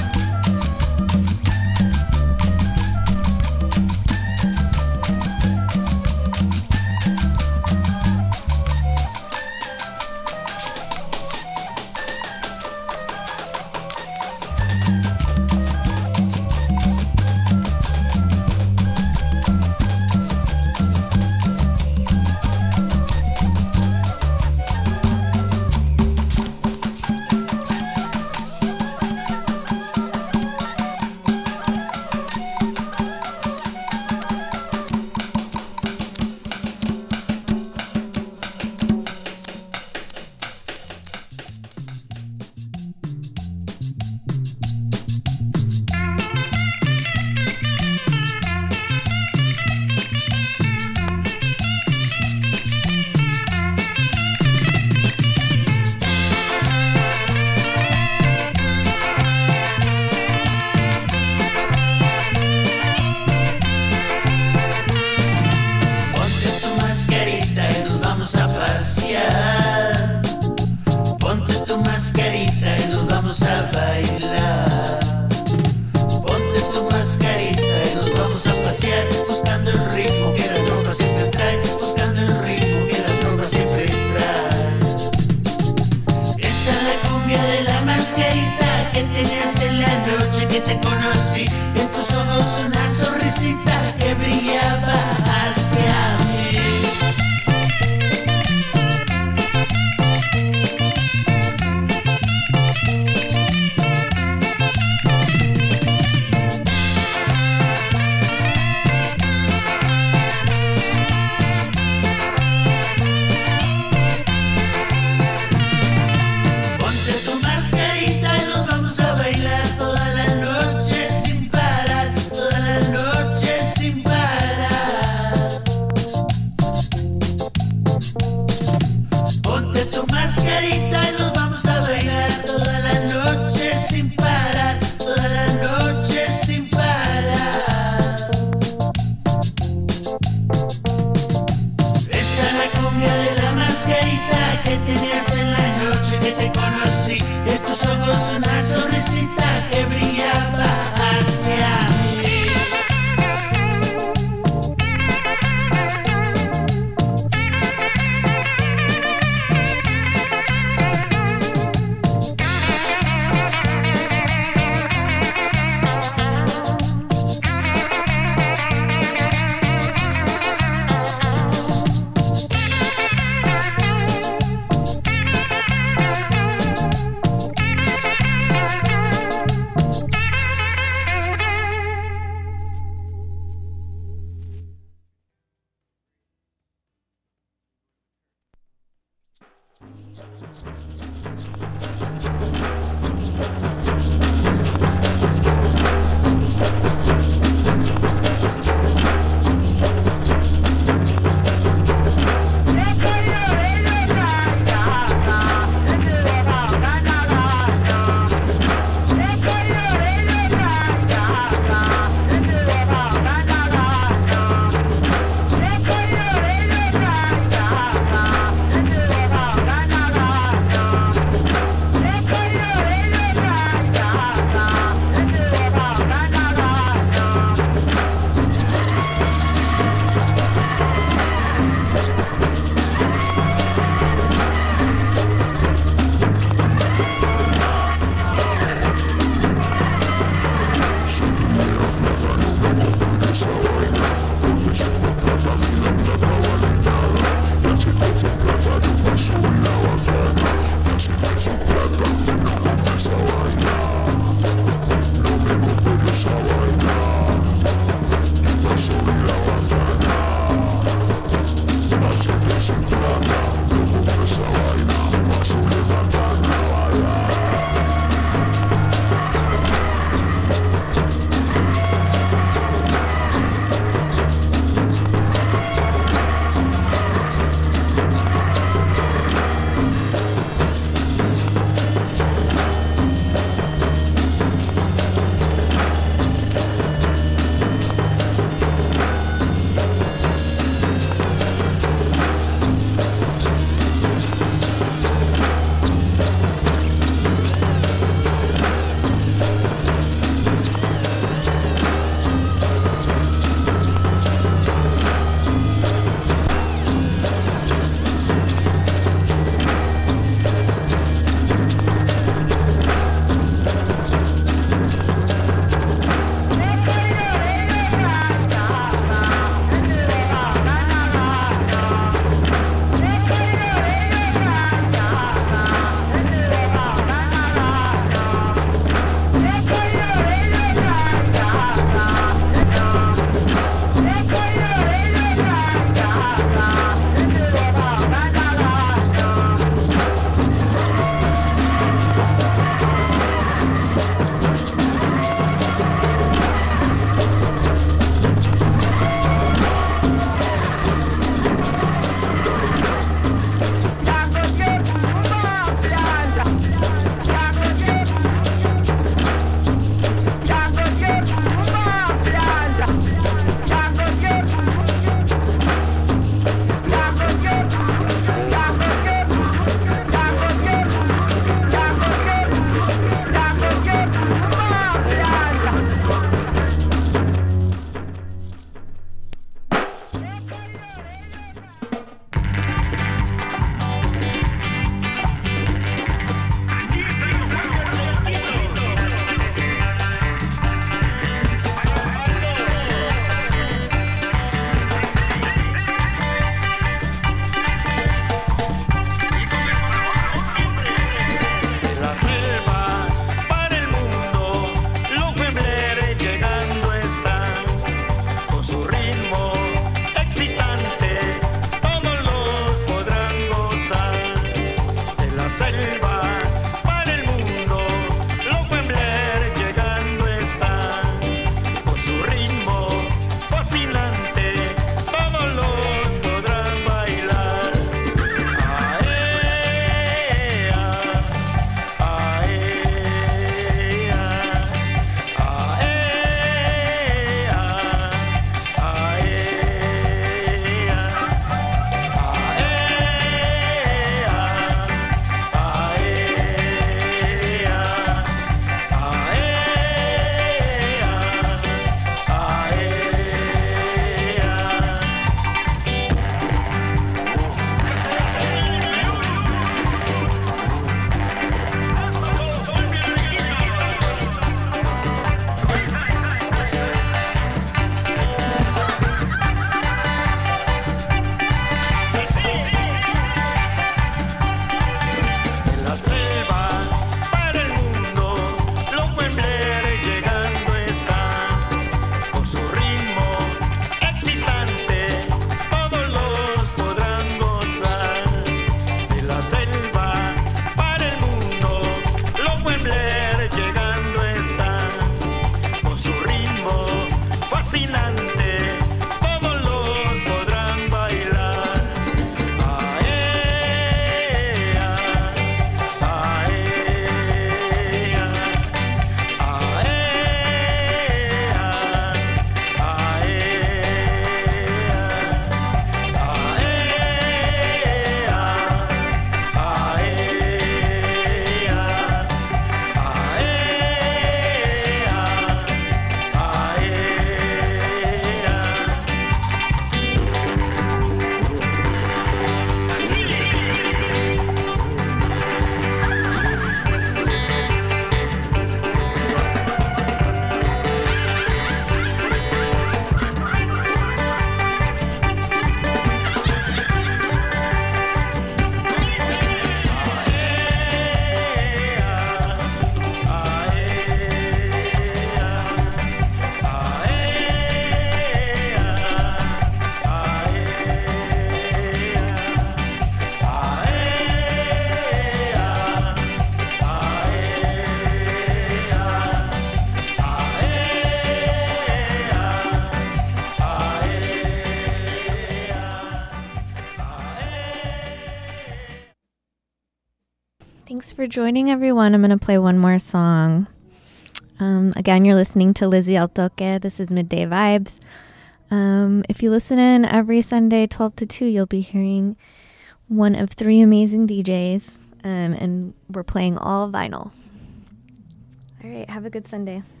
Speaker 5: for joining, everyone. I'm going to play one more song. Um, again, you're listening to Lizzie El Toque. This is Midday Vibes. Um, if you listen in every Sunday, twelve to two, you'll be hearing one of three amazing D Js, um, and we're playing all vinyl. All right, have a good Sunday.